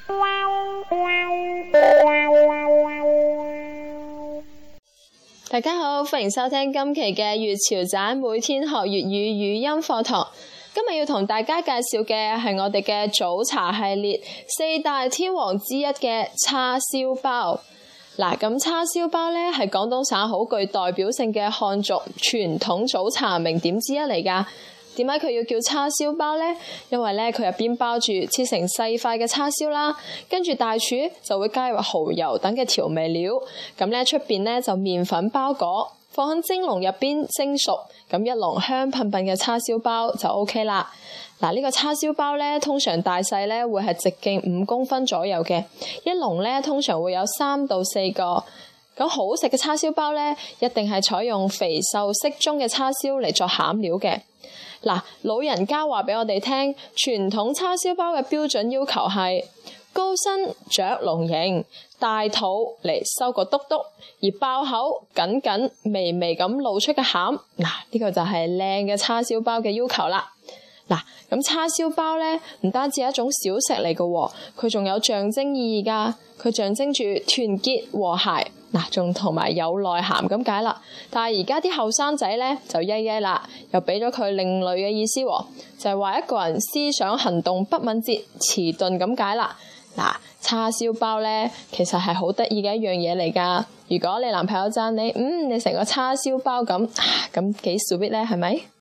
大家好，歡迎收聽今期嘅粵潮仔每天學粵語語音課堂。今日要同大家介紹嘅係我哋嘅早茶系列四大天王之一嘅叉燒包。嗱，咁叉燒包咧係廣東省好具代表性嘅漢族傳統早茶名點之一嚟㗎。點解佢要叫叉燒包呢？因為咧佢入邊包住切成細塊嘅叉燒啦，跟住大廚就會加入蠔油等嘅調味料，咁咧出邊咧就麵粉包裹，放喺蒸籠入邊蒸熟，咁一籠香噴噴嘅叉燒包就 OK 啦。嗱，呢個叉燒包咧通常大細咧會係直徑5公分左右嘅，一籠咧通常會有3到4個。咁好食嘅叉燒包咧，一定係採用肥瘦適中嘅叉燒嚟作餡料嘅。嗱，老人家話俾我哋聽，傳統叉燒包嘅標準要求係高身着龍形，大肚嚟收個篤篤，而爆口緊緊微微咁露出嘅餡。嗱，呢個就係靚嘅叉燒包嘅要求啦。嗱，咁叉燒包咧唔單止係一種小食嚟嘅，佢仲有象徵意義㗎。佢象徵住團結和諧，嗱，仲同埋有內涵咁解啦。但係而家啲後生仔咧就曳曳啦，又俾咗佢另類嘅意思，就係話一個人思想行動不敏捷、遲鈍咁解啦。嗱，叉燒包咧其實係好得意嘅一樣嘢嚟㗎。如果你男朋友讚你，你成個叉燒包咁，咁幾 sweet 咧，係咪？